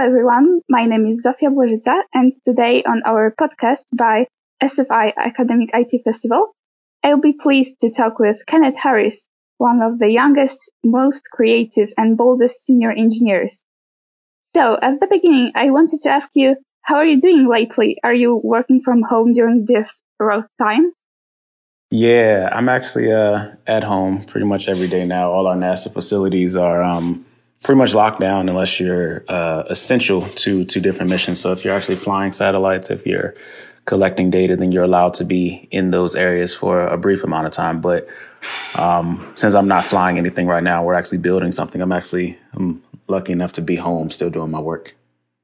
everyone, my name is Zofia Błożyca, and today on our podcast by SFI Academic IT Festival, I'll be pleased to talk with Kenneth Harris, one of the youngest, most creative and boldest senior engineers. So, at the beginning, I wanted to ask you, how are you doing lately? Are you working from home during this rough time? Yeah, I'm actually at home pretty much every day now. All our NASA facilities are pretty much locked down unless you're essential to different missions. So if you're actually flying satellites, if you're collecting data, then you're allowed to be in those areas for a brief amount of time. But since I'm not flying anything right now, we're actually building something. I'm lucky enough to be home still doing my work.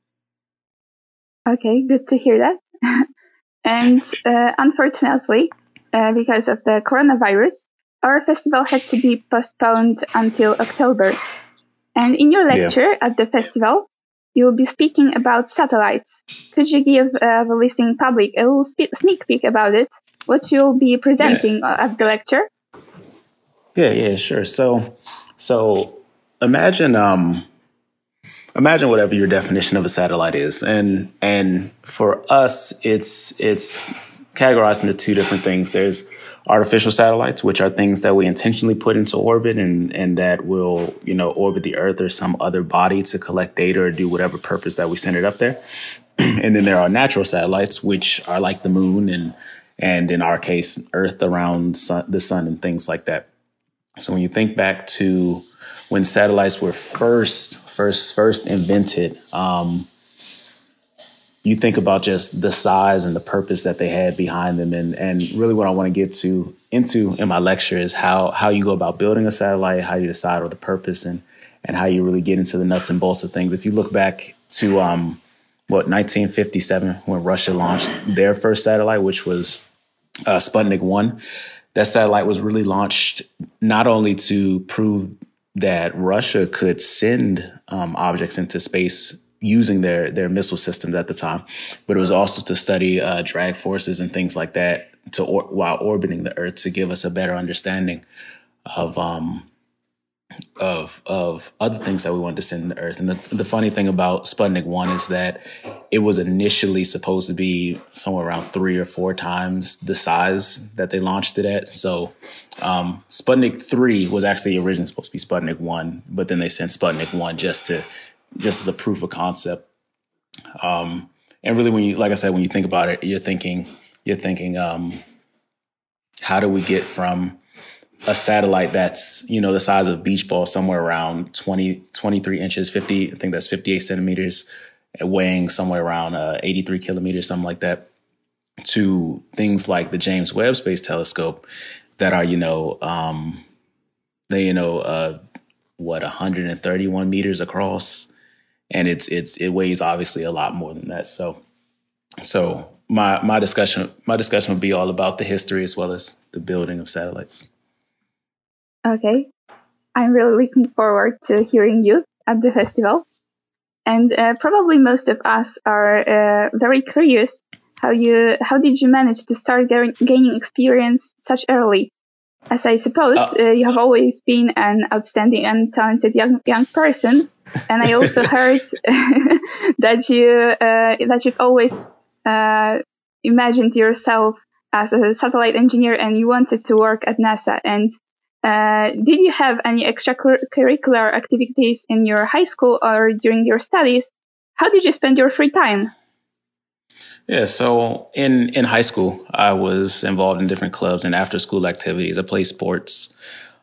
Okay, good to hear that. And unfortunately, because of the coronavirus, our festival had to be postponed until October. And in your lecture at the festival, you will be speaking about satellites. Could you give the listening public a little sneak peek about it? What you'll be presenting at the lecture? Yeah, sure. So imagine whatever your definition of a satellite is, and for us, it's categorized into two different things. There's artificial satellites, which are things that we intentionally put into orbit and that will, orbit the Earth or some other body to collect data or do whatever purpose that we send it up there. And then there are natural satellites, which are like the moon and in our case, Earth around the sun and things like that. So when you think back to when satellites were first invented, you think about just the size and the purpose that they had behind them. And really what I want to get into in my lecture is how you go about building a satellite, how you decide on the purpose and how you really get into the nuts and bolts of things. If you look back to 1957, when Russia launched their first satellite, which was Sputnik 1, that satellite was really launched not only to prove that Russia could send objects into space using their missile systems at the time, but it was also to study drag forces and things like that while orbiting the Earth to give us a better understanding of other things that we wanted to send to the Earth. And the funny thing about Sputnik 1 is that it was initially supposed to be somewhere around 3 or 4 times the size that they launched it at. So Sputnik 3 was actually originally supposed to be Sputnik 1, but then they sent Sputnik 1 just as a proof of concept. And really, when you think about it, you're thinking, how do we get from a satellite that's, the size of a beach ball, somewhere around 23 inches, 50, I think that's 58 centimeters, weighing somewhere around 83 kilometers, something like that, to things like the James Webb Space Telescope that are, 131 meters across. And it weighs obviously a lot more than that. So my discussion would be all about the history as well as the building of satellites. Okay, I'm really looking forward to hearing you at the festival. And probably most of us are very curious how did you manage to start gaining experience such early? As I suppose you have always been an outstanding and talented young person, and I also heard that you've always imagined yourself as a satellite engineer and you wanted to work at NASA. And did you have any extracurricular activities in your high school or during your studies? How did you spend your free time? Yeah, so in high school, I was involved in different clubs and after school activities. I played sports.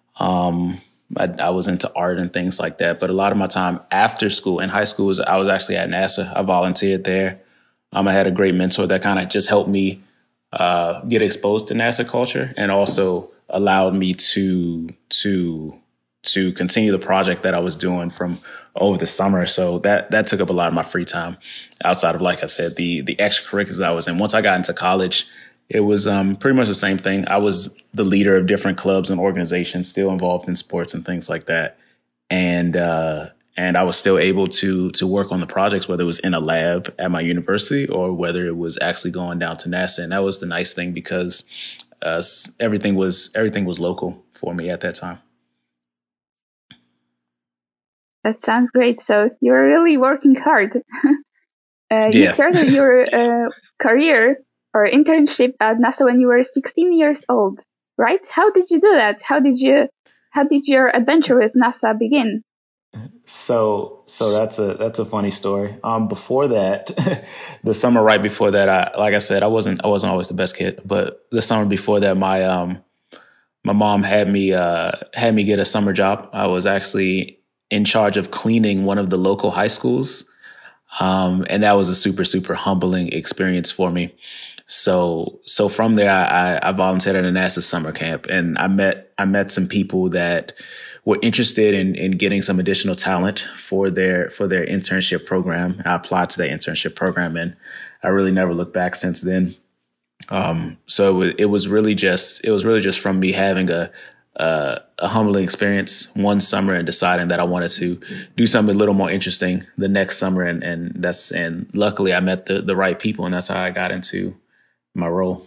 I was into art and things like that. But a lot of my time after school in high school I was actually at NASA. I volunteered there. I had a great mentor that kind of just helped me get exposed to NASA culture and also allowed me to continue the project that I was doing from over the summer. So that took up a lot of my free time outside of, like I said, the extracurriculars I was in. Once I got into college, it was pretty much the same thing. I was the leader of different clubs and organizations, still involved in sports and things like that. And I was still able to work on the projects, whether it was in a lab at my university or whether it was actually going down to NASA. And that was the nice thing because everything was local for me at that time. That sounds great. So you're really working hard. You started your career or internship at NASA when you were 16 years old, right? How did you do that? How did your adventure with NASA begin? So that's a funny story. Before that, the summer right before that, like I said, I wasn't always the best kid, but the summer before that, my mom had me get a summer job. I was actually in charge of cleaning one of the local high schools, and that was a super humbling experience for me. So from there, I volunteered at a NASA summer camp, and I met some people that were interested in getting some additional talent for their internship program. I applied to that internship program, and I really never looked back since then. So it was really just from me having a humbling experience one summer and deciding that I wanted to do something a little more interesting the next summer, and luckily I met the right people, and that's how I got into my role.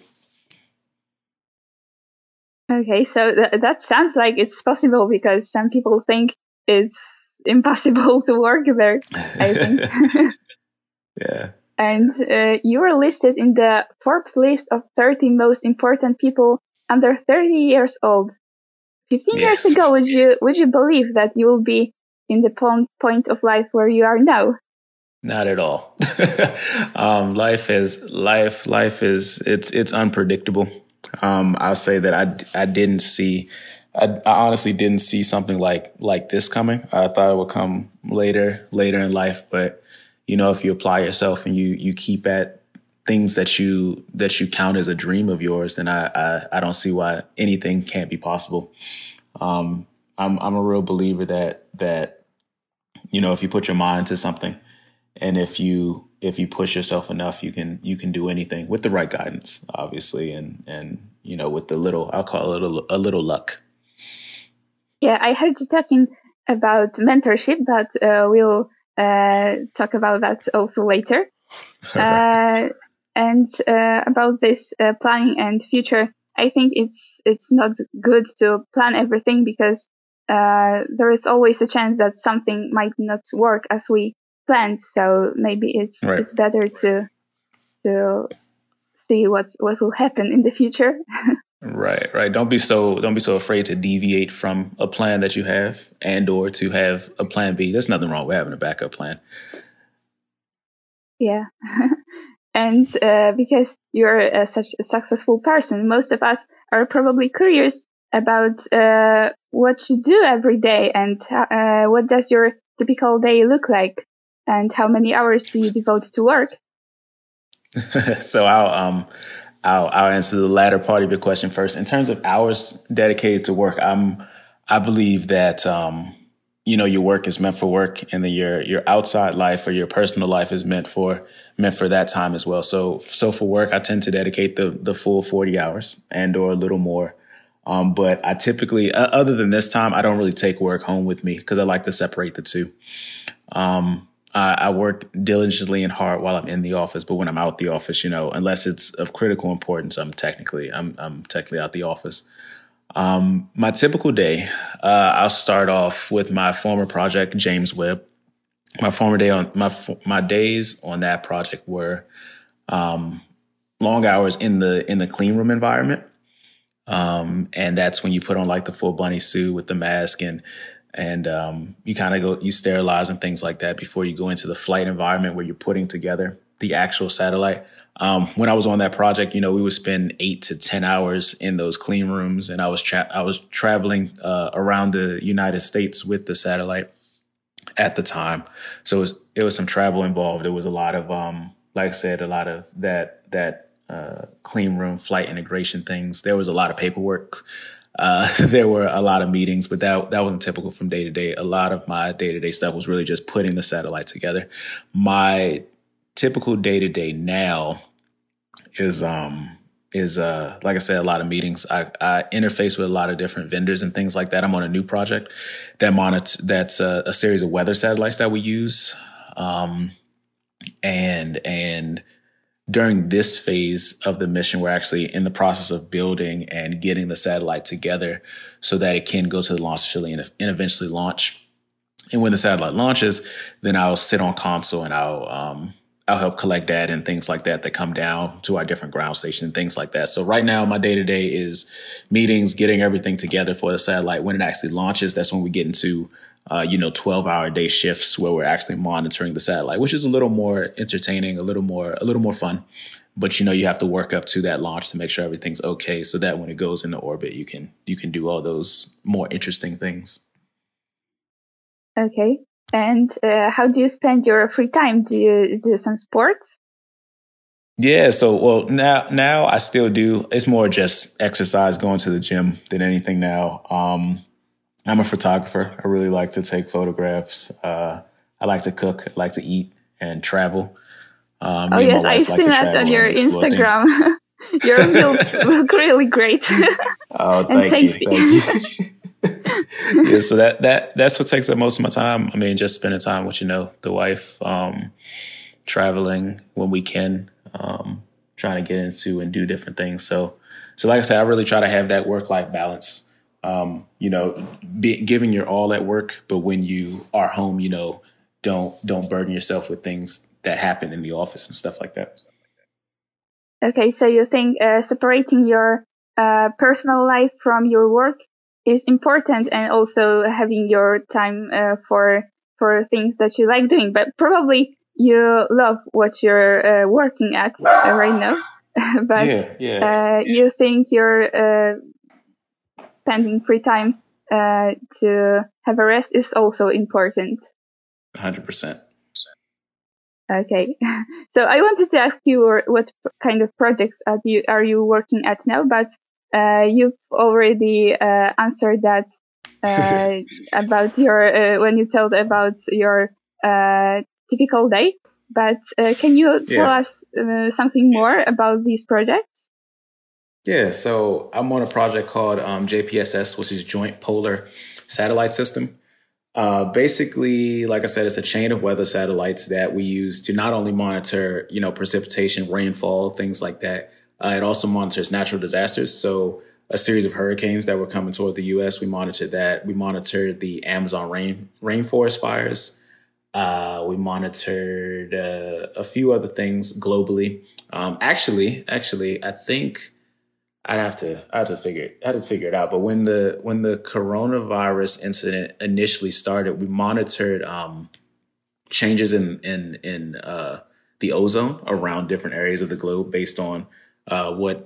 Okay, so that sounds like it's possible, because some people think it's impossible to work there, I think. Yeah. And you were listed in the Forbes list of 30 most important people under 30 years old. 15 years ago, would you believe that you will be in the point of life where you are now? Not at all. Life is it's unpredictable. I'll say that I honestly didn't see something like this coming. I thought it would come later in life, but if you apply yourself and you keep at things that you count as a dream of yours, then I don't see why anything can't be possible. I'm a real believer that if you put your mind to something, and if you push yourself enough, you can do anything with the right guidance, obviously, and with I'll call it a little luck. Yeah, I heard you talking about mentorship, but we'll talk about that also later. And about this planning and future, I think it's not good to plan everything, because there is always a chance that something might not work as we planned. So maybe it's better to see what will happen in the future. Right. Don't be so afraid to deviate from a plan that you have, or to have a plan B. There's nothing wrong with having a backup plan. Yeah. And because you're such a successful person, most of us are probably curious about what you do every day, and what does your typical day look like, and how many hours do you devote to work? So I'll answer the latter part of your question first. In terms of hours dedicated to work, I believe that your work is meant for work, and then your outside life or your personal life is meant for that time as well. So for work, I tend to dedicate the full 40 hours or a little more. But I typically, other than this time, I don't really take work home with me, because I like to separate the two. I work diligently and hard while I'm in the office, but when I'm out the office, unless it's of critical importance, I'm technically out the office. My typical day, I'll start off with my former project, James Webb. My former day my days on that project were long hours in the clean room environment, and that's when you put on like the full bunny suit with the mask, and you kind of you sterilize and things like that before you go into the flight environment where you're putting together the actual satellite. When I was on that project, we would spend 8 to 10 hours in those clean rooms, and I was traveling around the United States with the satellite at the time. So it was some travel involved. There was a lot of, like I said, a lot of that clean room flight integration things. There was a lot of paperwork. There were a lot of meetings, but that wasn't typical from day to day. A lot of my day-to-day stuff was really just putting the satellite together. My typical day-to-day now is like I said, a lot of meetings. I interface with a lot of different vendors and things like that. I'm on a new project that's a series of weather satellites that we use. And during this phase of the mission, we're actually in the process of building and getting the satellite together so that it can go to the launch facility and eventually launch. And when the satellite launches, then I'll sit on console and I'll help collect data and things like that that come down to our different ground station and things like that. So right now, my day to day is meetings, getting everything together for the satellite. When it actually launches, that's when we get into 12-hour day shifts where we're actually monitoring the satellite, which is a little more entertaining, a little more fun. But you have to work up to that launch to make sure everything's okay, so that when it goes into orbit, you can do all those more interesting things. Okay. And how do you spend your free time? Do you do some sports? Yeah, so now I still do. It's more just exercise, going to the gym than anything now. I'm a photographer. I really like to take photographs. I like to cook, I like to eat and travel. Oh yes, I've seen that on your Instagram. Your meals look really great. Oh, and tasty. Thank you. Yeah, so that's what takes up most of my time. I mean, just spending time with the wife, traveling when we can, trying to get into and do different things. So like I said, I really try to have that work-life balance. Giving your all at work, but when you are home, don't burden yourself with things that happen in the office and stuff like that. Okay, so you think separating your personal life from your work is important, and also having your time for things that you like doing. But probably you love what you're working at right now. But you think you're spending free time to have a rest is also important. 100%. Okay, so I wanted to ask you what kind of projects are you working at now, but you've already answered that about your when you told about your typical day. But can you tell us something more about these projects? Yeah, so I'm on a project called JPSS, which is Joint Polar Satellite System. Basically, like I said, it's a chain of weather satellites that we use to not only monitor, precipitation, rainfall, things like that. It also monitors natural disasters. So a series of hurricanes that were coming toward the U.S., we monitored that. We monitored the Amazon rainforest fires. We monitored a few other things globally. Actually, I think I have to figure it out. But when the coronavirus incident initially started, we monitored changes in the ozone around different areas of the globe based on what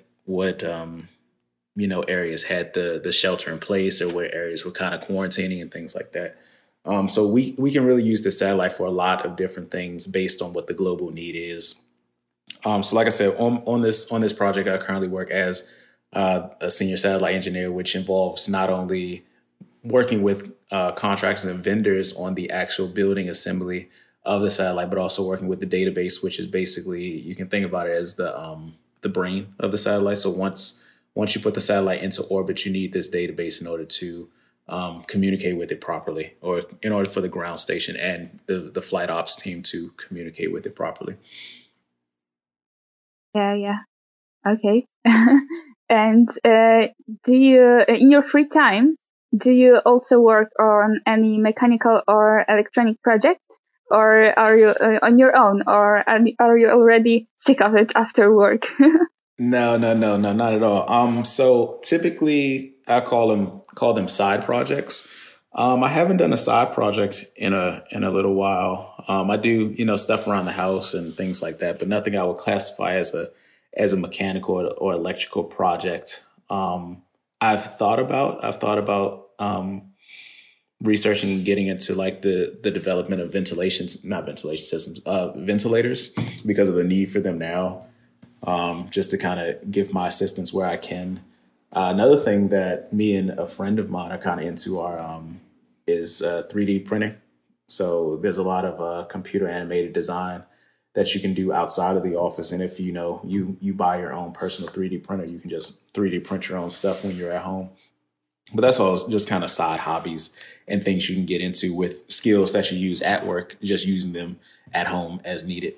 areas had the shelter in place, or what areas were kind of quarantining and things like that. So we can really use the satellite for a lot of different things based on what the global need is. So like I said, on this project, I currently work as a senior satellite engineer, which involves not only working with contractors and vendors on the actual building assembly of the satellite, but also working with the database, which is basically, you can think about it as the brain of the satellite. So once you put the satellite into orbit, you need this database in order to communicate with it properly, or in order for the ground station and the flight ops team to communicate with it properly. Yeah. Okay. And do you, in your free time, do you also work on any mechanical or electronic project, or are you on your own, or are you already sick of it after work? No, not at all. So typically I call them side projects. I haven't done a side project in a little while. I do, stuff around the house and things like that, but nothing I would classify as a mechanical or electrical project. I've thought about researching and getting into like the development of not ventilation systems, ventilators, because of the need for them now. Just to kind of give my assistance where I can. Another thing that me and a friend of mine are kind of into is 3D printing. So there's a lot of computer animated design that you can do outside of the office. And if you buy your own personal 3D printer, you can just 3D print your own stuff when you're at home. But that's all just kind of side hobbies and things you can get into with skills that you use at work, just using them at home as needed.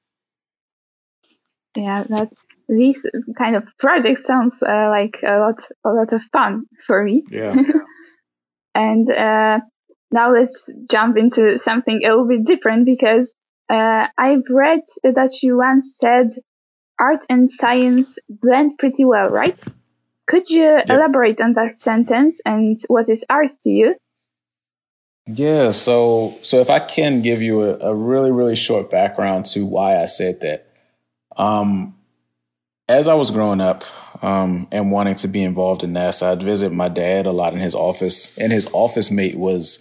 Yeah, these kind of projects sounds like a lot of fun for me. Yeah. And now let's jump into something a little bit different, because I've read that you once said art and science blend pretty well, right? Could you elaborate on that sentence and what is art to you? Yeah, so if I can give you a really, really short background to why I said that. As I was growing up and wanting to be involved in NASA, I'd visit my dad a lot in his office, and his office mate was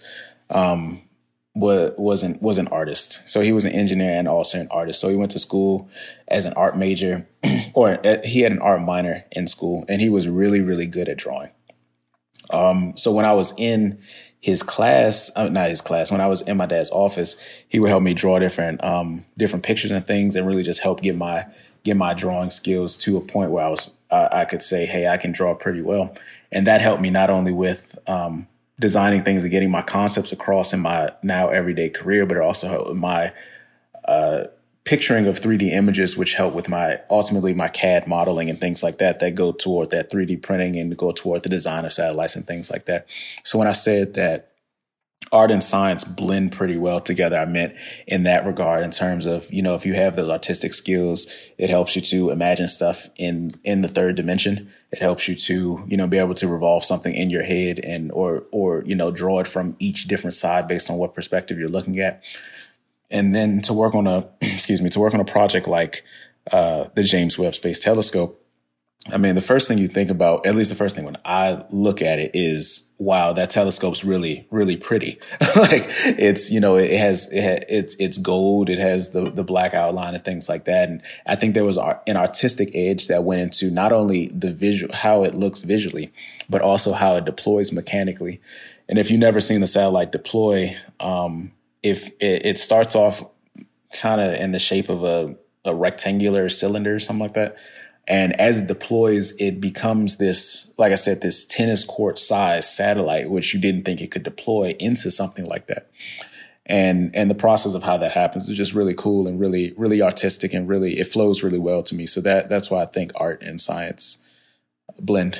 an artist. So he was an engineer and also an artist. So he went to school as an art major, or he had an art minor in school, and he was really, really good at drawing. So when I was in his class, not his class, when I was in my dad's office, he would help me draw different pictures and things, and really just help get my drawing skills to a point where I could say, hey, I can draw pretty well. And that helped me not only with designing things and getting my concepts across in my now everyday career, but it also helped with my picturing of 3D images, which help with ultimately my CAD modeling and things like that go toward that 3D printing and go toward the design of satellites and things like that. So when I said that art and science blend pretty well together, I meant in that regard, in terms of, if you have those artistic skills, it helps you to imagine stuff in the third dimension. It helps you to, be able to revolve something in your head or draw it from each different side based on what perspective you're looking at. And then to work on a project like the James Webb Space Telescope, I mean, the first thing you think about, at least the first thing when I look at it, is, wow, that telescope's really, really pretty. Like it's, it's gold. It has the black outline and things like that. And I think there was an artistic edge that went into not only the visual, how it looks visually, but also how it deploys mechanically. And if you've never seen the satellite deploy, if it starts off kind of in the shape of a rectangular cylinder or something like that. And as it deploys, it becomes this, like I said, this tennis court size satellite, which you didn't think it could deploy into something like that. And the process of how that happens is just really cool and really, really artistic, and really, it flows really well to me. So that's why I think art and science blend.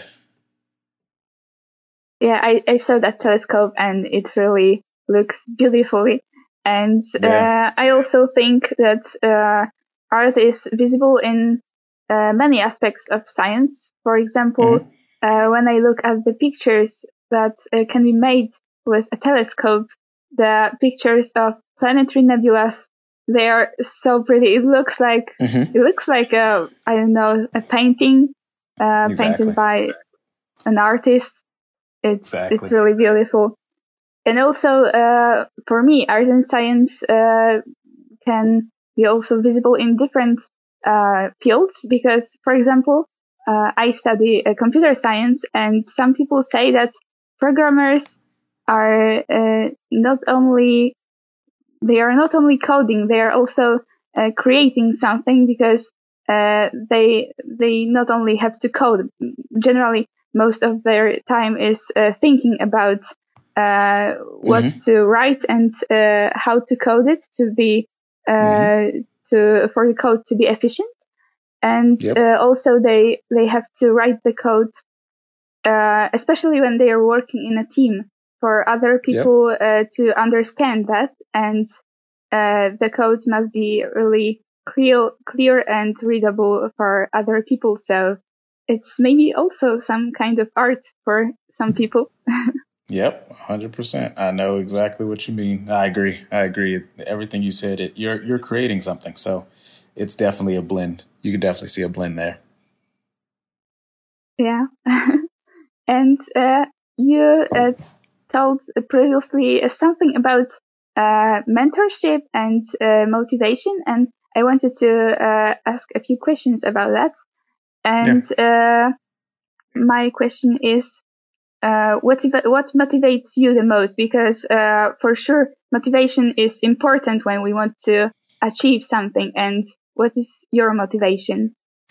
Yeah, I saw that telescope and it really looks beautifully. And I also think that art is visible in many aspects of science. For example, when I look at the pictures that can be made with a telescope, the pictures of planetary nebulas, they are so pretty. It looks like a painting painted by an artist. It's really beautiful. And also, for me, art and science can be also visible in different fields, because, for example, I study computer science, and some people say that programmers are not only coding, they are also creating something, because they not only have to code. Generally, most of their time is thinking about what to write and how to code it to be for the code to be efficient. And also they have to write the code, especially when they are working in a team, for other people to understand that. And the code must be really clear and readable for other people. So it's maybe also some kind of art for some people. Yep, 100%. I know exactly what you mean. I agree. Everything you said, you're creating something. So it's definitely a blend. You can definitely see a blend there. Yeah. And you told previously something about mentorship and motivation, and I wanted to ask a few questions about that. And my question is, what motivates you the most? Because for sure, motivation is important when we want to achieve something. And what is your motivation?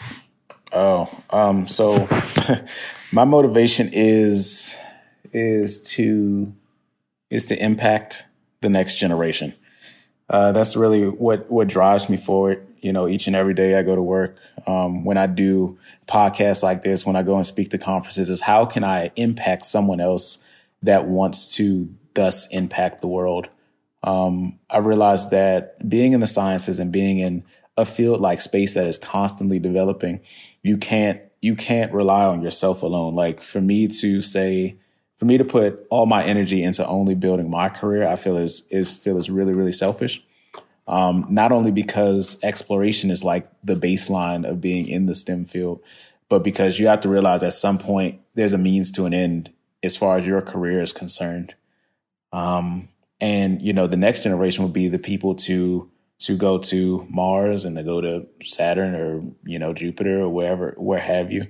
So my motivation is to impact the next generation. That's really what drives me forward. Each and every day I go to work. When I do podcasts like this, when I go and speak to conferences, is how can I impact someone else that wants to thus impact the world. I realized that being in the sciences and being in a field like space that is constantly developing, you can't rely on yourself alone. Like for me to put all my energy into only building my career, I feel is really, really selfish. Not only because exploration is like the baseline of being in the STEM field, but because you have to realize at some point there's a means to an end as far as your career is concerned. And, the next generation would be the people to go to Mars and to go to Saturn or, Jupiter or where have you.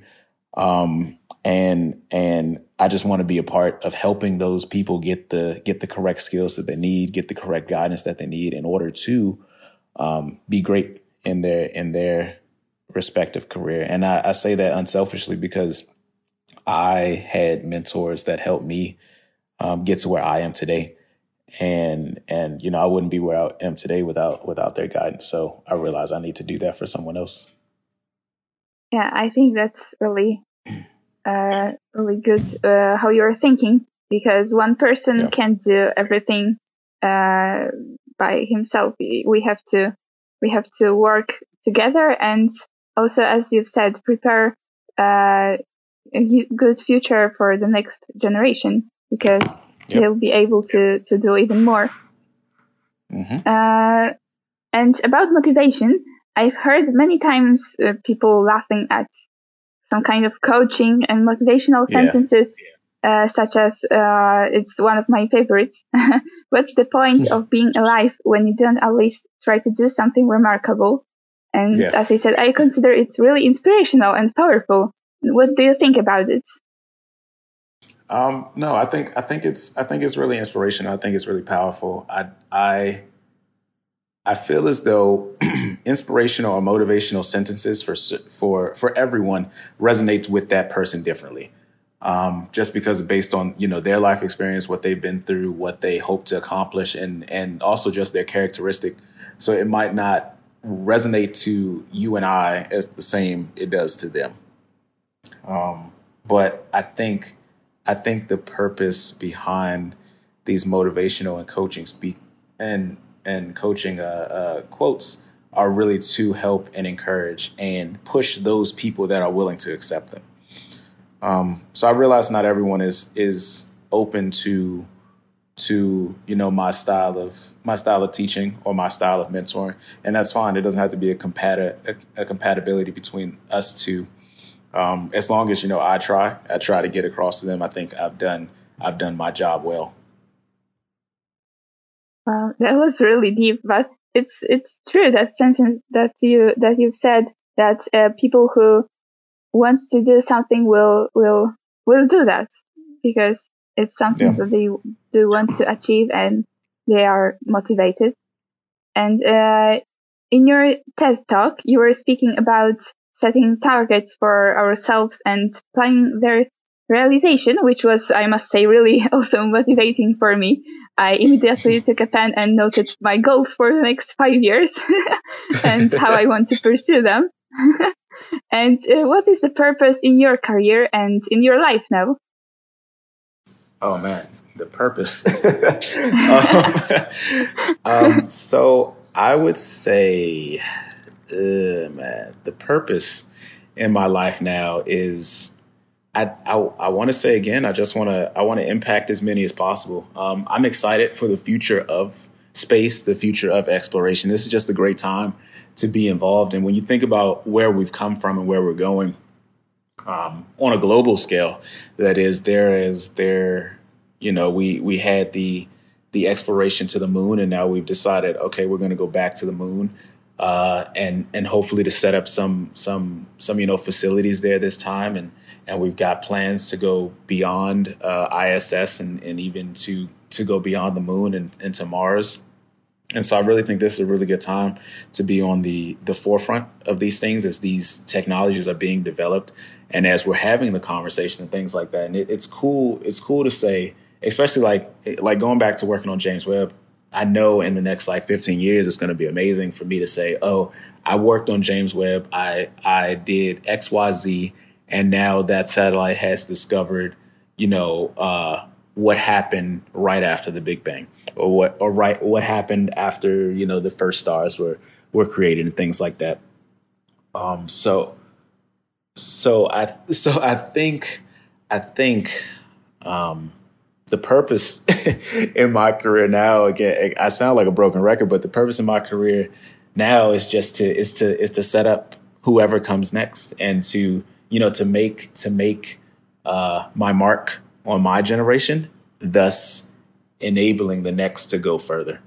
And I just want to be a part of helping those people get the correct skills that they need, get the correct guidance that they need in order to be great in their respective career. And I say that unselfishly because I had mentors that helped me get to where I am today. And I wouldn't be where I am today without their guidance. So I realized I need to do that for someone else. Yeah, I think that's really really good how you're thinking, because one person can't do everything by himself. We have to work together, and also, as you've said, prepare a good future for the next generation, because they'll be able to do even more. Mm-hmm. And about motivation, I've heard many times people laughing at some kind of coaching and motivational sentences, such as, it's one of my favorites. What's the point of being alive when you don't at least try to do something remarkable? And as I said, I consider it really inspirational and powerful. What do you think about it? No, I think it's really inspirational. I think it's really powerful. I feel as though inspirational or motivational sentences for everyone resonates with that person differently. Just because based on, their life experience, what they've been through, what they hope to accomplish, and also just their characteristic. So it might not resonate to you and I as the same it does to them. But I think the purpose behind these motivational and coaching coaching quotes are really to help and encourage and push those people that are willing to accept them. So I realize not everyone is open to my style of teaching or my style of mentoring, and that's fine. It doesn't have to be a compatibility between us two. As long as I try to get across to them. I think I've done my job well. Wow, that was really deep, but it's true, that sentence that you've said, that people who want to do something will do that because it's something that they do want to achieve and they are motivated. And in your TED talk, you were speaking about setting targets for ourselves and planning their realization, which was, I must say, really also motivating for me. I immediately took a pen and noted my goals for the next 5 years and how I want to pursue them. And what is the purpose in your career and in your life now? Oh, man, the purpose. So I would say, man, the purpose in my life now is, I want to say again, I want to impact as many as possible. I'm excited for the future of space, the future of exploration. This is just a great time to be involved. And when you think about where we've come from and where we're going, on a global scale, that is, we had the exploration to the moon, and now we've decided, okay, we're going to go back to the moon, and hopefully to set up some facilities there this time, and we've got plans to go beyond ISS and even to go beyond the moon and to Mars. And so I really think this is a really good time to be on the forefront of these things as these technologies are being developed and as we're having the conversation and things like that. And it's cool. It's cool to say, especially like going back to working on James Webb. I know in the next 15 years, it's going to be amazing for me to say, oh, I worked on James Webb. I did X, Y, Z. And now that satellite has discovered, what happened right after the Big Bang, or what happened after the first stars were created and things like that. So I think the purpose in my career now, again, I sound like a broken record, but the purpose in my career now is just to set up whoever comes next, and to make my mark on my generation, thus enabling the next to go further.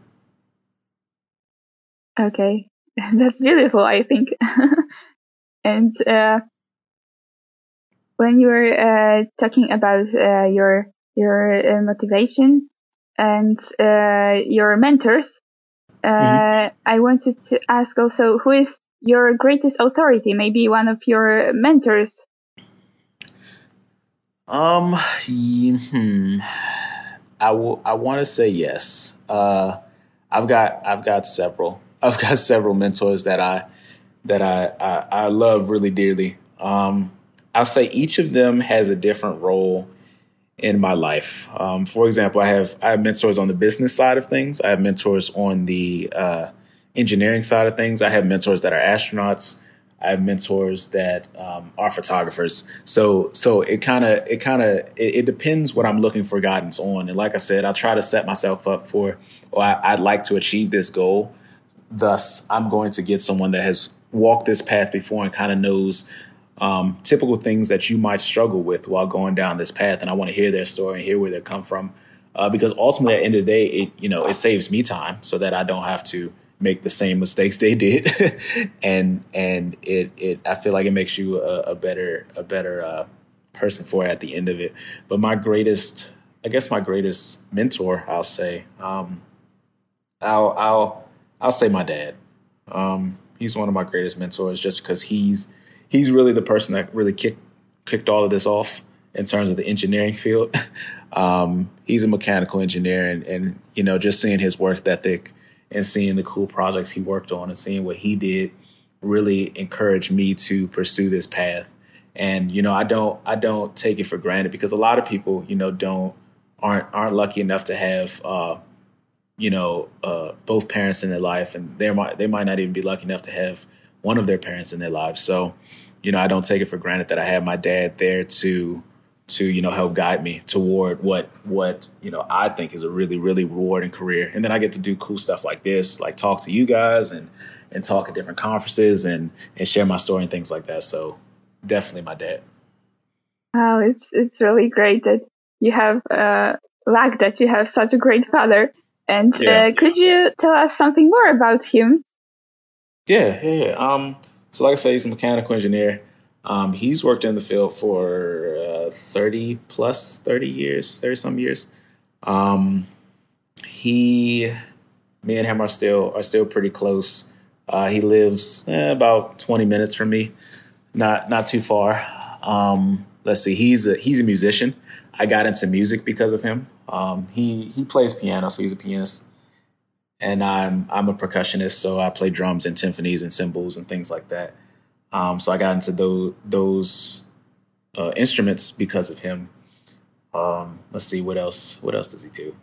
Okay, that's beautiful, I think. And when you were talking about your motivation and your mentors, I wanted to ask also, who is your greatest authority? Maybe one of your mentors. I want to say yes. I've got several. I've got several mentors that I love really dearly. I'll say each of them has a different role in my life. For example, I have mentors on the business side of things. I have mentors on the engineering side of things. I have mentors that are astronauts. I have mentors that are photographers. So it depends what I'm looking for guidance on. And like I said, I try to set myself up for, or I'd like to achieve this goal. Thus, I'm going to get someone that has walked this path before and kind of knows typical things that you might struggle with while going down this path. And I want to hear their story and hear where they come from. Because ultimately, at the end of the day, it saves me time so that I don't have to make the same mistakes they did. and I feel like it makes you a better person for it at the end of it. But my greatest mentor, I'll say, I'll say my dad. He's one of my greatest mentors, just because he's really the person that really kicked all of this off in terms of the engineering field. He's a mechanical engineer, and just seeing his work ethic and seeing the cool projects he worked on and seeing what he did really encouraged me to pursue this path. And I don't take it for granted, because a lot of people aren't lucky enough to have both parents in their life, and they might not even be lucky enough to have one of their parents in their lives. So I don't take it for granted that I have my dad there to help guide me toward what I think is a really, really rewarding career. And then I get to do cool stuff like this, like talk to you guys and talk at different conferences and share my story and things like that. So definitely my dad. Wow, it's really great that you have luck that you have such a great father. And could you tell us something more about him? Yeah. So like I say, he's a mechanical engineer. He's worked in the field for 30 years, 30 some years. Me and him are still pretty close. He lives about 20 minutes from me, not too far. Let's see, he's a musician. I got into music because of him. He plays piano, so he's a pianist, and I'm a percussionist, so I play drums and timpanis and cymbals and things like that. So I got into those instruments because of him. Let's see, what else does he do?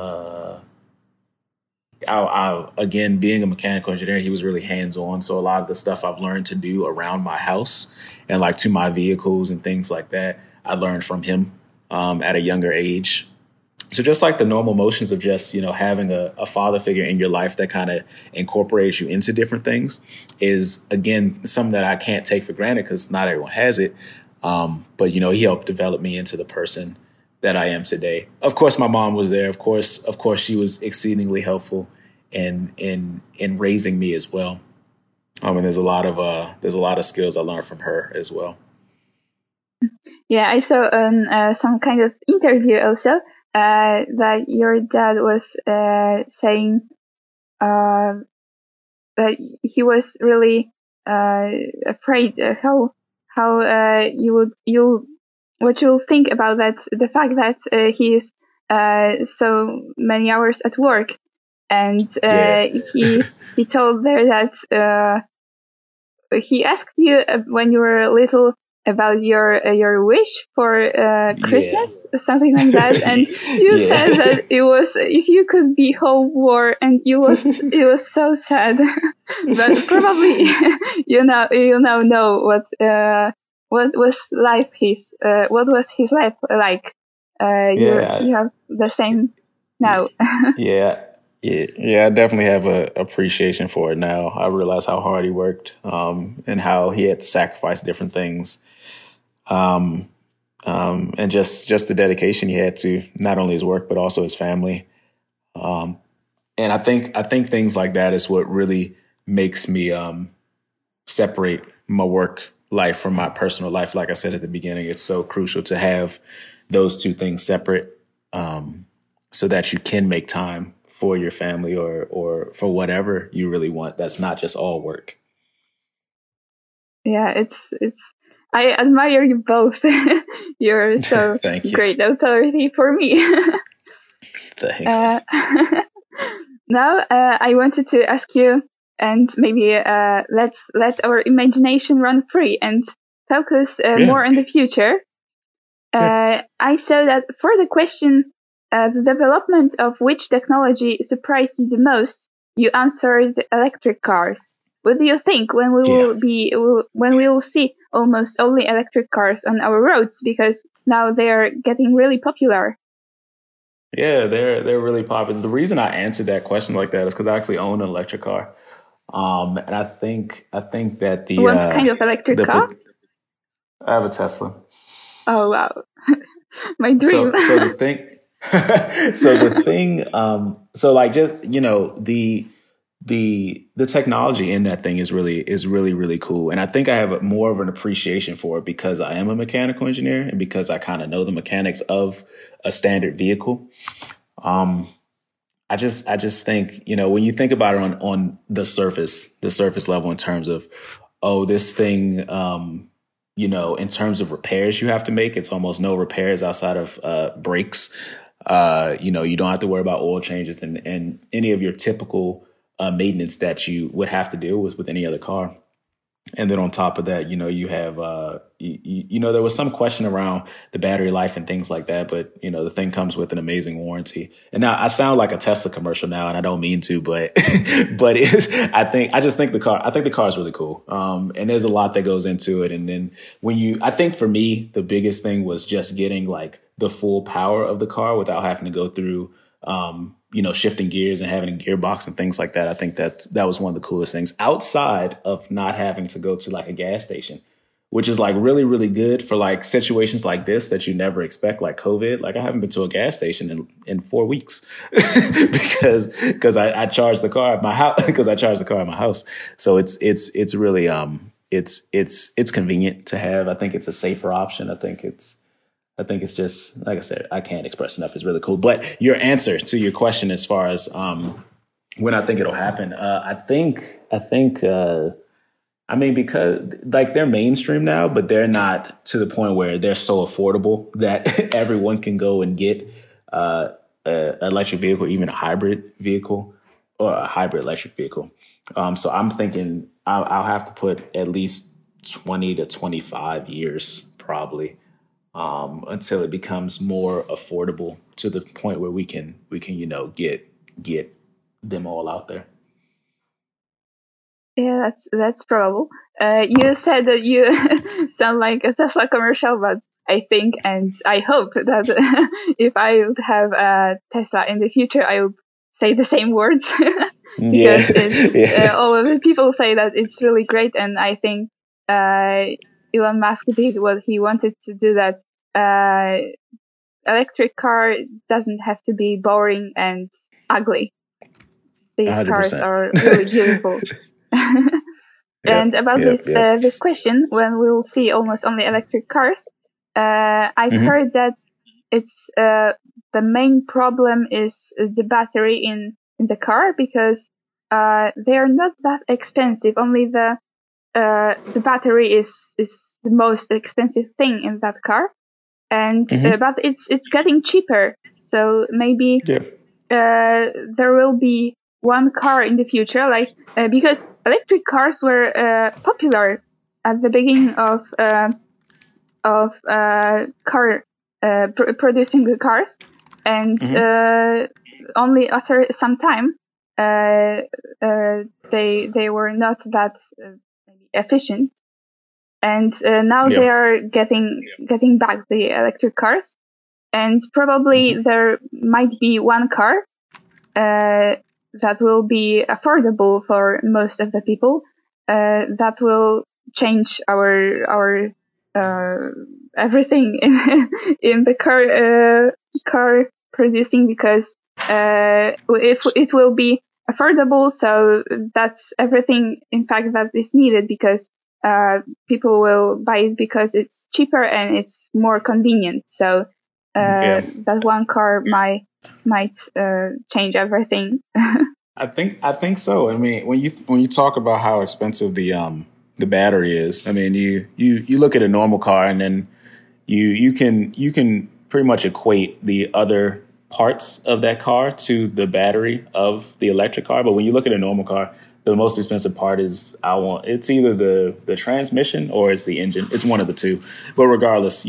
Again, being a mechanical engineer, he was really hands-on. So a lot of the stuff I've learned to do around my house and like to my vehicles and things like that, I learned from him at a younger age. So just like the normal motions of just, having a father figure in your life that kind of incorporates you into different things is, again, something that I can't take for granted because not everyone has it. But, he helped develop me into the person that I am today. Of course, my mom was there. Of course, she was exceedingly helpful in raising me as well. And there's a lot of skills I learned from her as well. Yeah, I saw some kind of interview also that your dad was saying that he was really afraid how what you'll think about that, the fact that he is so many hours at work, and he told there that he asked you when you were little about your wish for Christmas, Yeah. something like that, and you said that it was if you could be whole war, and it was so sad, but probably you now know what was what was his life like. You have the same now. Yeah. Yeah, I definitely have a appreciation for it now. I realize how hard he worked, and how he had to sacrifice different things, um, and just the dedication he had to not only his work but also his family. Um, and I think things like that is what really makes me separate my work life from my personal life. Like I said at the beginning, it's so crucial to have those two things separate, so that you can make time for your family or for whatever you really want. That's not just all work. Yeah, it's. I admire you both. You're so Thank you. great authority for me. Thanks. Now, I wanted to ask you, and maybe let's let our imagination run free and focus more on the future. Yeah. I saw that for the question, the development of which technology surprised you the most, you answered electric cars. What do you think when when we will see almost only electric cars on our roads, because now they are getting really popular? Yeah, they're really popular. The reason I answered that question like that is because I actually own an electric car, and I think that What kind of electric car? I have a Tesla. Oh wow, my dream. So the thing, so like just the technology in that thing is really cool, and I think I have more of an appreciation for it because I am a mechanical engineer and because I kind of know the mechanics of a standard vehicle. Um, I just think, when you think about it on the surface level in terms of, oh, this thing, in terms of repairs you have to make, it's almost no repairs outside of brakes. You don't have to worry about oil changes and any of your typical maintenance that you would have to deal with any other car. And then on top of that, you have, there was some question around the battery life and things like that. But, the thing comes with an amazing warranty. And now I sound like a Tesla commercial now, and I don't mean to, but, I think the car is really cool. And there's a lot that goes into it. And then I think for me, the biggest thing was just getting like the full power of the car without having to go through, shifting gears and having a gearbox and things like that. I think that was one of the coolest things outside of not having to go to like a gas station, which is like really, really good for like situations like this that you never expect, like COVID. Like I haven't been to a gas station in 4 weeks because I charged the car at my house because I charged the car at my house. So it's really, it's convenient to have. I think it's a safer option. I think it's just, like I said, I can't express enough. It's really cool. But your answer to your question as far as when I think it'll happen, because like they're mainstream now, but they're not to the point where they're so affordable that everyone can go and get an electric vehicle, even a hybrid vehicle or a hybrid electric vehicle. So I'm thinking I'll have to put at least 20 to 25 years probably, until it becomes more affordable to the point where we can get them all out there. Yeah, that's probable. You said that you sound like a Tesla commercial, but I think and I hope that if I would have a Tesla in the future, I would say the same words because all of the people say that it's really great, and I think Elon Musk did what he wanted to do. That electric car doesn't have to be boring and ugly. These cars 100%. are really beautiful. And about this question, when we'll see almost only electric cars, I've heard that it's the main problem is the battery in the car, because they are not that expensive. Only the battery is the most expensive thing in that car, and but it's getting cheaper. So maybe there will be one car in the future, like because electric cars were popular at the beginning of of producing the cars, and only after some time they were not that efficient, and now they are getting back the electric cars, and probably there might be one car that will be affordable for most of the people, that will change our everything in the car producing, because if it will be affordable, so that's everything in fact that is needed, because people will buy it because it's cheaper and it's more convenient. So that one car might change everything. I think so. I mean, when you talk about how expensive the battery is, I mean, you look at a normal car, and then you can pretty much equate the other parts of that car to the battery of the electric car. But when you look at a normal car, the most expensive part is it's either the transmission or it's the engine. It's one of the two. But regardless,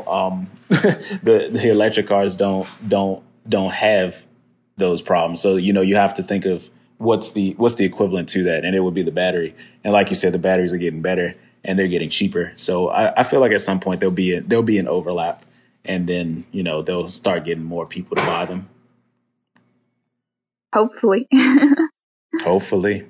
the electric cars don't have those problems. So, you have to think of what's the equivalent to that, and it would be the battery. And like you said, the batteries are getting better and they're getting cheaper. So I feel like at some point there'll be an overlap, and then they'll start getting more people to buy them. Hopefully. Hopefully.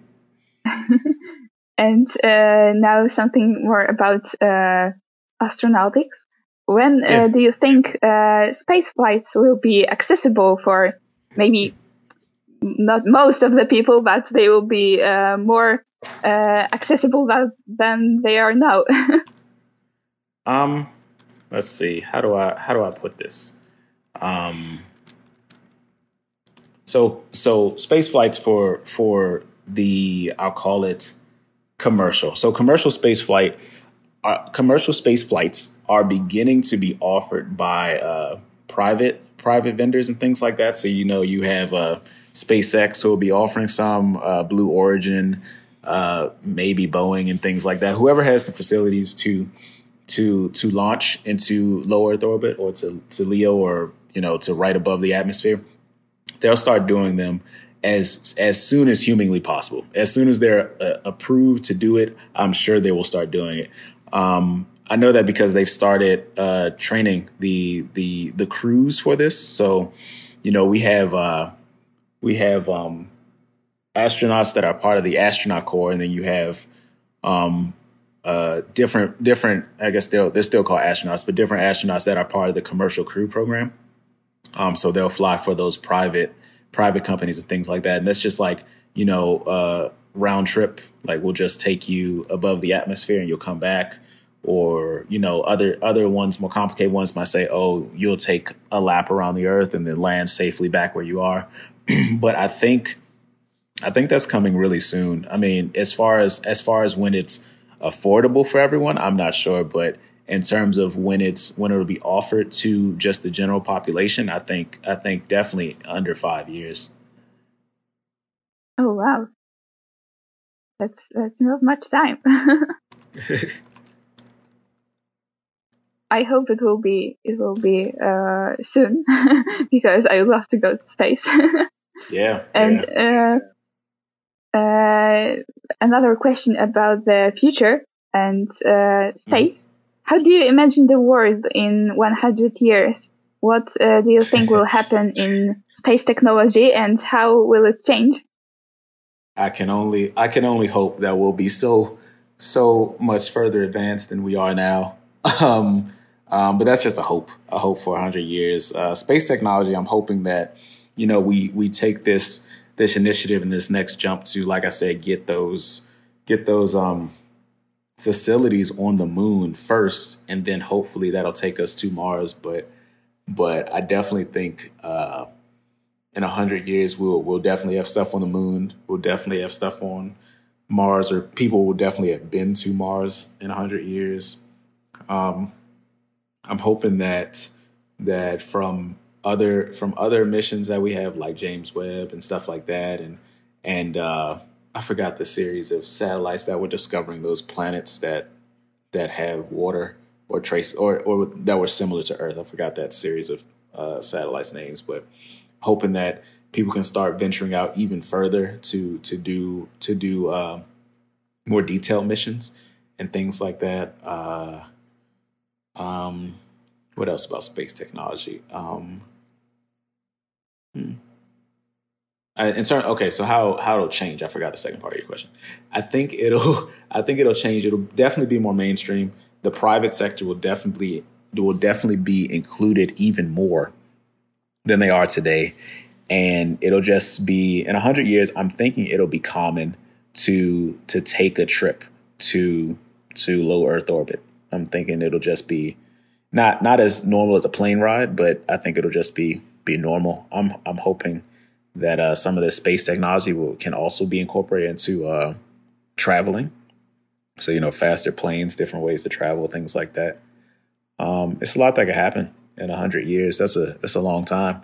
And now something more about astronautics. When do you think space flights will be accessible for maybe not most of the people, but they will be more accessible than they are now? Let's see. How do I put this? So space flights for the, I'll call it commercial. So commercial space flights are beginning to be offered by private vendors and things like that. So you have SpaceX who will be offering some, Blue Origin, maybe Boeing and things like that. Whoever has the facilities to launch into low Earth orbit, or to LEO, or to right above the atmosphere, they'll start doing them as soon as humanly possible. As soon as they're approved to do it, I'm sure they will start doing it. I know that because they've started training the crews for this. So, we have astronauts that are part of the astronaut corps, and then you have different. I guess they're still called astronauts, but different astronauts that are part of the commercial crew program. So they'll fly for those private companies and things like that. And that's just like, round trip. Like, we'll just take you above the atmosphere and you'll come back. Or, other ones, more complicated ones, might say, oh, you'll take a lap around the Earth and then land safely back where you are. But I think that's coming really soon. I mean, as far as when it's affordable for everyone, I'm not sure. But in terms of when it'll be offered to just the general population, I think definitely under 5 years. Oh wow, that's not much time. I hope it will be soon, because I would love to go to space. Yeah. And another question about the future and space. Mm-hmm. How do you imagine the world in 100 years? What do you think will happen in space technology, and how will it change? I can only hope that we'll be so much further advanced than we are now. But that's just a hope for 100 years. Space technology, I'm hoping that, we take this initiative and this next jump to, like I said, get those facilities on the moon first, and then hopefully that'll take us to Mars. But I definitely think in 100 years we'll definitely have stuff on the moon. We'll definitely have stuff on Mars, or people will definitely have been to Mars in 100 years. I'm hoping that from other missions that we have, like James Webb and stuff like that, and I forgot the series of satellites that were discovering those planets that have water trace or that were similar to Earth. I forgot that series of satellites names, but hoping that people can start venturing out even further to do more detailed missions and things like that. What else about space technology? Okay, so how it'll change? I forgot the second part of your question. I think it'll change. It'll definitely be more mainstream. The private sector will definitely be included even more than they are today, and it'll just be in 100 years. I'm thinking it'll be common to take a trip to low Earth orbit. I'm thinking it'll just be not as normal as a plane ride, but I think it'll just be normal. I'm hoping that some of the space technology can also be incorporated into traveling. So, faster planes, different ways to travel, things like that. It's a lot that could happen in 100 years. That's a long time.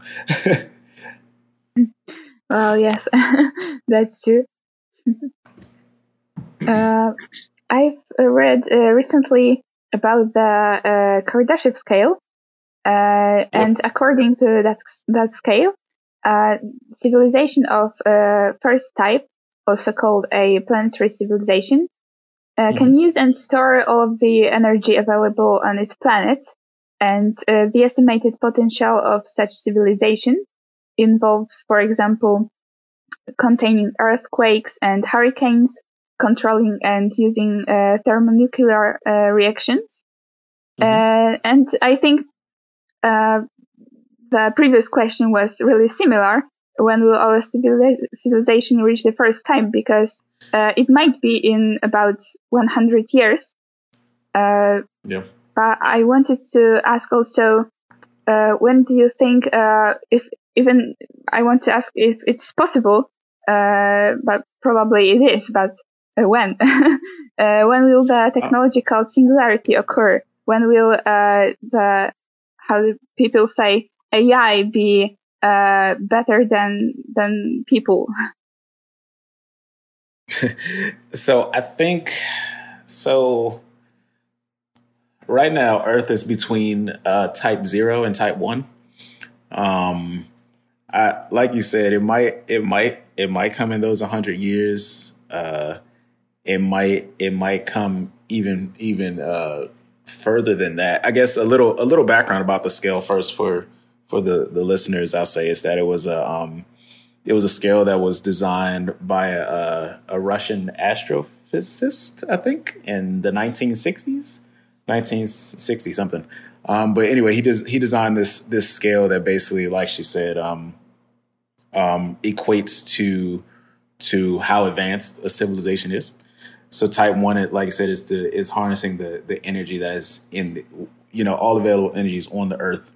Well, yes, that's true. I've read recently about the Kardashev scale, and according to that scale, civilization of first type, also called a planetary civilization, can use and store all of the energy available on its planet, and the estimated potential of such civilization involves, for example, containing earthquakes and hurricanes, controlling and using thermonuclear reactions. And I think the previous question was really similar. When will our civilization reach the first time? Because it might be in about 100 years. But I wanted to ask also, when do you think, I want to ask if it's possible, but probably it is, but when? When will the technological singularity occur? When will how do people say, AI be better than people? So I think right now Earth is between type 0 and type 1. Like you said, it might come in those 100 years. It might come even further than that. I guess a little background about the scale first for the listeners. I'll say is that it was a scale that was designed by a Russian astrophysicist, I think, in the 1960s, 1960 something. But anyway, he designed this scale that basically, like she said, equates to how advanced a civilization is. So type 1, like I said, is harnessing the energy that is in all available energies on the Earth.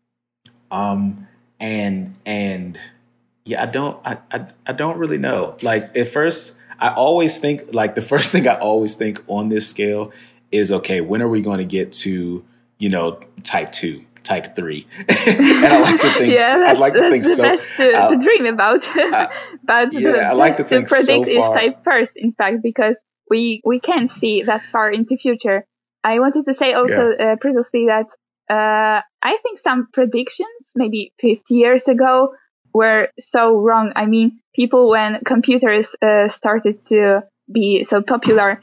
And yeah, I don't really know. Like at first, I always think like the first thing I always think on this scale is, okay, when are we going to get to type 2? Type 3, and I like to think. That's the best to dream about. But I like to think predict so far. is type first, in fact, because we can't see that far into future. I wanted to say also previously that I think some predictions maybe 50 years ago were so wrong. I mean, people, when computers started to be so popular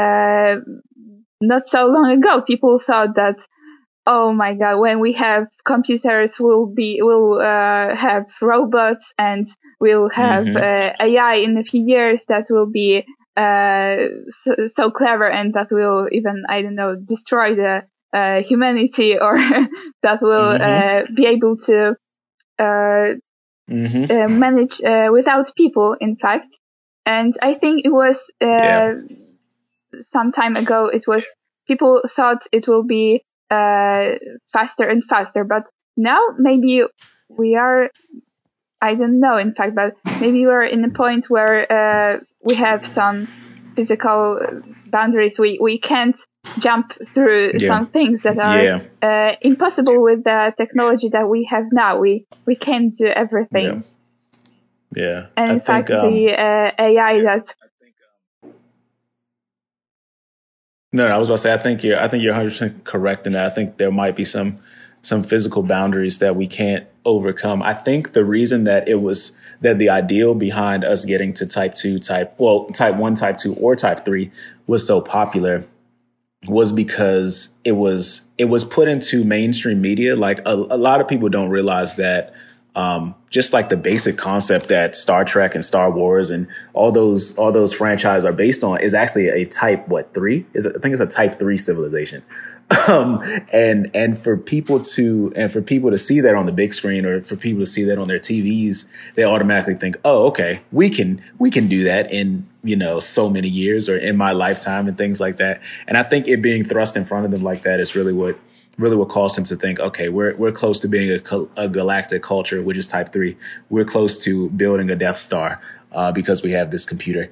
not so long ago, people thought that, oh my God, when we have computers, we'll have robots and we'll have AI in a few years that will be so clever and that will even, I don't know, destroy the humanity, or that will be able to manage without people, in fact. And I think it was some time ago, people thought it will be faster and faster, but now maybe we are, I don't know, in fact, but maybe we're in a point where we have some physical boundaries. We can't jump through some things that are impossible with the technology that we have now. We can't do everything. Yeah. And in fact, the AI that No, I was about to say, I think you're 100% correct in that. I think there might be some physical boundaries that we can't overcome. I think the reason that the ideal behind us getting to type 1, type 2, or type 3 was so popular was because it was put into mainstream media. Like a lot of people don't realize that just like the basic concept that Star Trek and Star Wars and all those franchises are based on is actually a type 3? I think it's a type 3 civilization. And for people to see that on the big screen, or for people to see that on their TVs, they automatically think, oh, okay, we can do that in, so many years or in my lifetime and things like that. And I think it being thrust in front of them like that is really what caused them to think, okay, we're close to being a galactic culture, which is type 3. We're close to building a Death Star because we have this computer.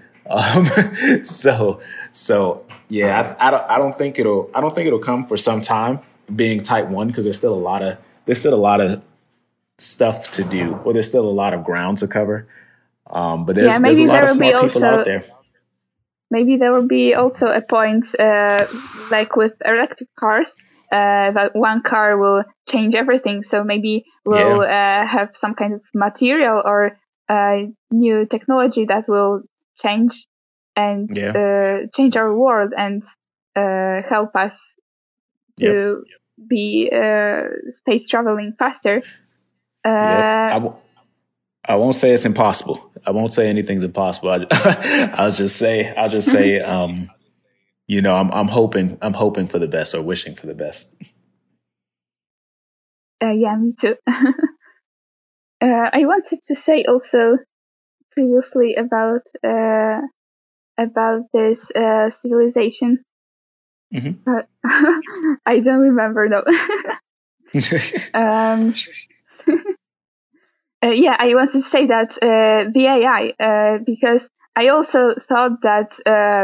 So yeah, I don't think it'll come for some time being type 1, because there's still a lot of stuff to do, or there's still a lot of ground to cover. But there's a lot of smart people out there. Maybe there will be also a point, like with electric cars, that one car will change everything. So maybe we'll have some kind of material or new technology that will change and change our world and help us to be space traveling faster. I won't say it's impossible. I won't say anything's impossible. I'll just say, I'm hoping for the best, or wishing for the best. Yeah, me too. I wanted to say also previously about this civilization, but I don't remember though. Yeah, I wanted to say that the AI, because I also thought that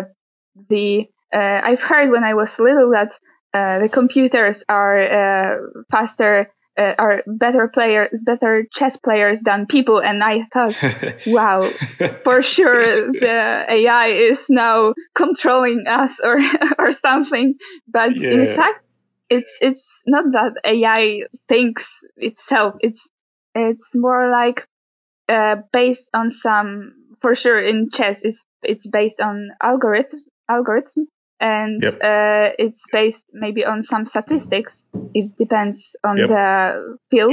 I've heard when I was little that the computers are faster, are better chess players than people, and I thought, wow, for sure the AI is now controlling us or something. But in fact, it's not that AI thinks itself. It's more like based on some, for sure in chess, it's based on algorithm, and it's based maybe on some statistics. It depends on the field.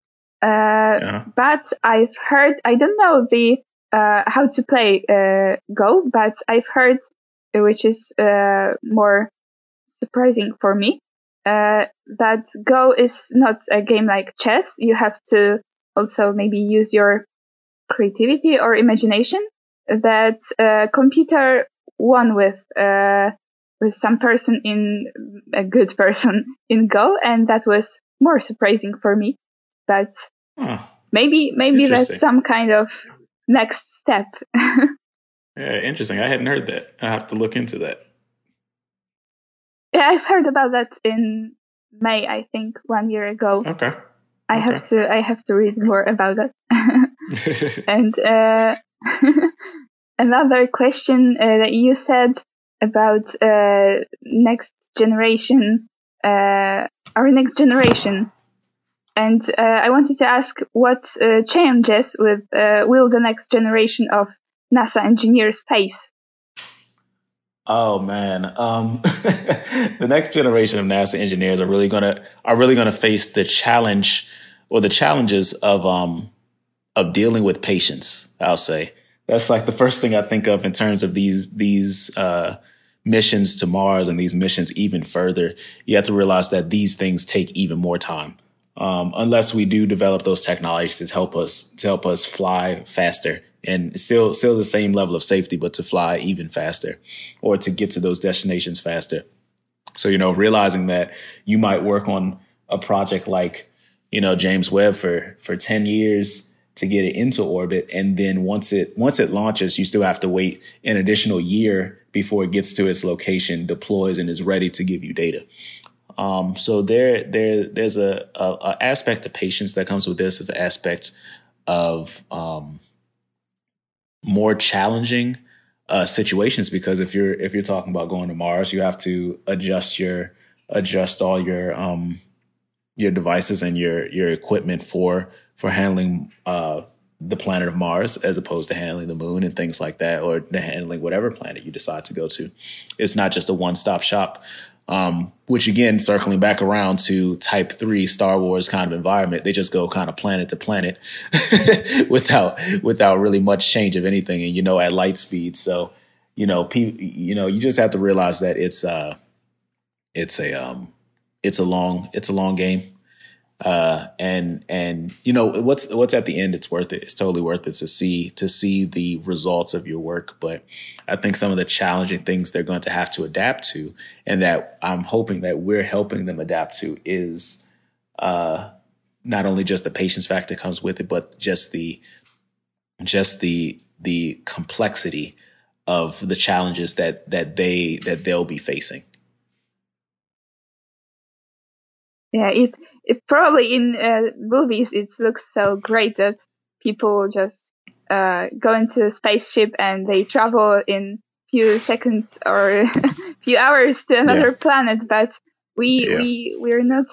But I've heard, I don't know the how to play Go, but I've heard, which is more surprising for me, that Go is not a game like chess. You have to also maybe use your creativity or imagination. That computer won with some person a good person in Go, and that was more surprising for me. But maybe that's some kind of next step. Yeah, interesting. I hadn't heard that. I have to look into that. Yeah, I've heard about that in May, I think, 1 year ago. Okay. I have to read more about that. And another question that you said about next generation, our next generation, and I wanted to ask what challenges will the next generation of NASA engineers face? Oh man, the next generation of NASA engineers are really gonna face the challenge, or the challenges of dealing with patience. I'll say that's like the first thing I think of in terms of these missions to Mars and these missions even further. You have to realize that these things take even more time, unless we do develop those technologies to help us fly faster. And still the same level of safety, but to fly even faster, or to get to those destinations faster. So, realizing that you might work on a project like, James Webb for 10 years to get it into orbit. And then once it launches, you still have to wait an additional year before it gets to its location, deploys, and is ready to give you data. So there's a aspect of patience that comes with this. It's an aspect of, more challenging situations, because if you're talking about going to Mars, you have to adjust all your devices and your equipment for handling the planet of Mars, as opposed to handling the moon and things like that, or handling whatever planet you decide to go to. It's not just a one-stop shop, which again, circling back around to Type 3 Star Wars kind of environment, they just go kind of planet to planet without really much change of anything, and at light speed. So you just have to realize that it's a long game. And what's at the end, it's worth it. It's totally worth it to see the results of your work. But I think some of the challenging things they're going to have to adapt to, and that I'm hoping that we're helping them adapt to, is not only just the patience factor comes with it, but just the complexity of the challenges that they'll be facing. Yeah, it probably in movies it looks so great that people just go into a spaceship and they travel in few seconds or few hours to another planet. But we're not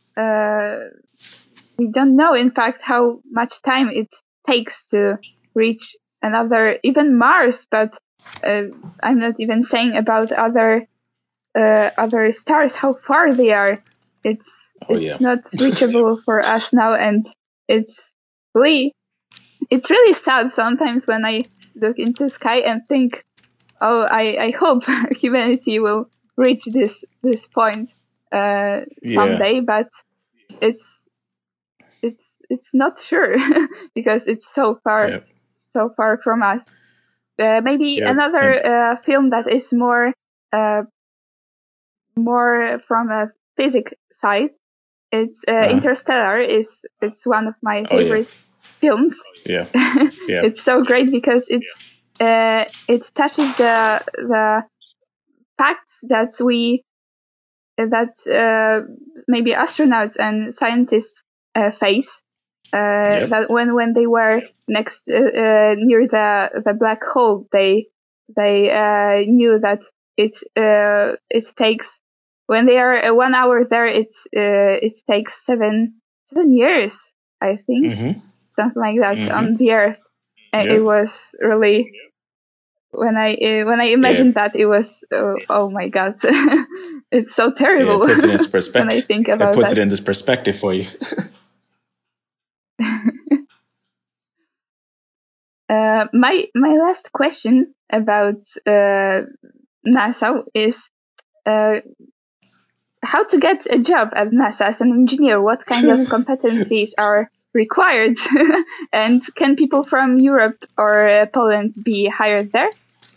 we don't know, in fact, how much time it takes to reach another, even Mars. But I'm not even saying about other stars, how far they are. It's not reachable for us now, and it's really sad sometimes when I look into the sky and think, I hope humanity will reach this point someday, but it's not sure because it's so far from us. Maybe another film that is more from a physics side. It's Interstellar. It's one of my favorite films. Yeah, it's so great because it touches the facts that maybe astronauts and scientists face. That when they were near the black hole, they knew that it takes. When they are 1 hour there, it takes 7 years, I think, something like that, on the Earth. And it was really, when I imagined that, it was oh my God, it's so terrible. It puts it in perspective. When I think about it puts it into perspective for you. My last question about NASA is. How to get a job at NASA as an engineer? What kind of competencies are required? And can people from Europe or Poland be hired there?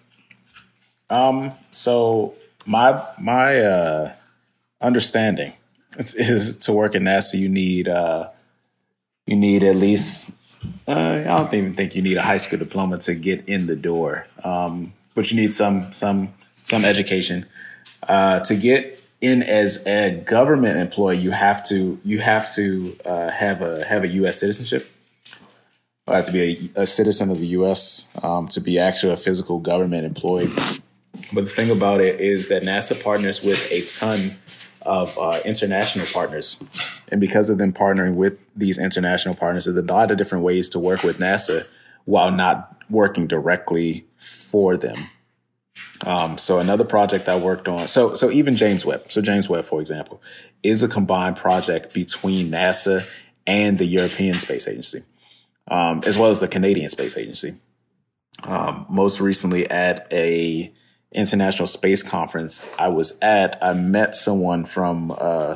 So my understanding is to work at NASA, you need at least I don't even think you need a high school diploma to get in the door, but you need some education to get in as a government employee. You have to have a U.S. citizenship. You have to be a citizen of the U.S. To be actually a physical government employee. But the thing about it is that NASA partners with a ton of international partners. And because of them partnering with these international partners, there's a lot of different ways to work with NASA while not working directly for them. So another project I worked on, so even James Webb. So James Webb, for example, is a combined project between NASA and the European Space Agency, as well as the Canadian Space Agency. Most recently at a international space conference I met someone from,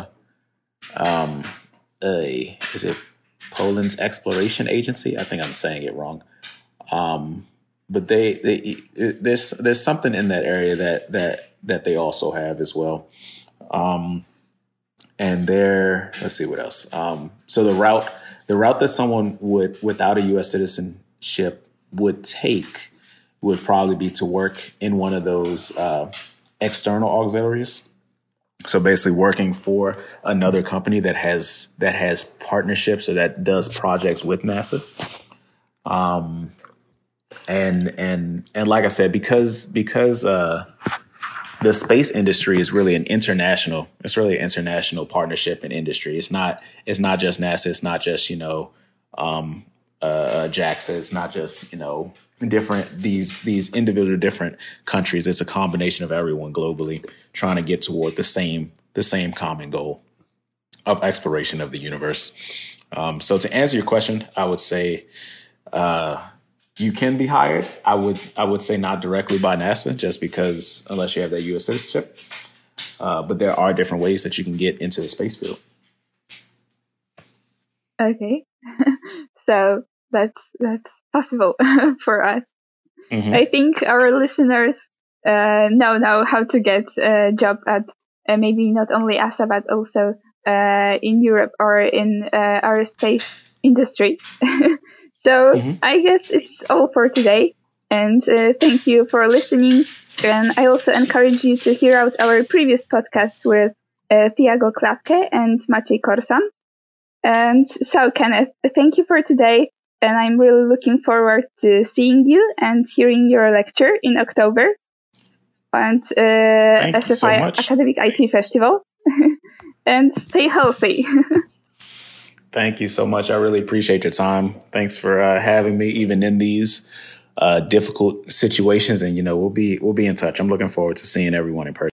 is it Poland's Exploration Agency? I think I'm saying it wrong. But there's something in that area that they also have as well. And let's see what else. So the route that someone without a U.S. citizenship would take would probably be to work in one of those external auxiliaries. So basically working for another company that has partnerships or that does projects with NASA. and like I said, because the space industry is really an international partnership in industry. It's not just NASA. It's not just, JAXA. It's not just, different, these individual different countries. It's a combination of everyone globally trying to get toward the same common goal of exploration of the universe. So to answer your question, I would say, you can be hired. I would say not directly by NASA, just because unless you have that U.S. citizenship. But there are different ways that you can get into the space field. Okay, so that's possible for us. Mm-hmm. I think our listeners know now how to get a job at maybe not only ESA but also in Europe or in our space industry. So I guess it's all for today. And thank you for listening. And I also encourage you to hear out our previous podcasts with Thiago Klapke and Maciej Korsan. And so, Kenneth, thank you for today. And I'm really looking forward to seeing you and hearing your lecture in October at SFI Academic IT Festival. And stay healthy. Thank you so much. I really appreciate your time. Thanks for having me, even in these difficult situations. And we'll be in touch. I'm looking forward to seeing everyone in person.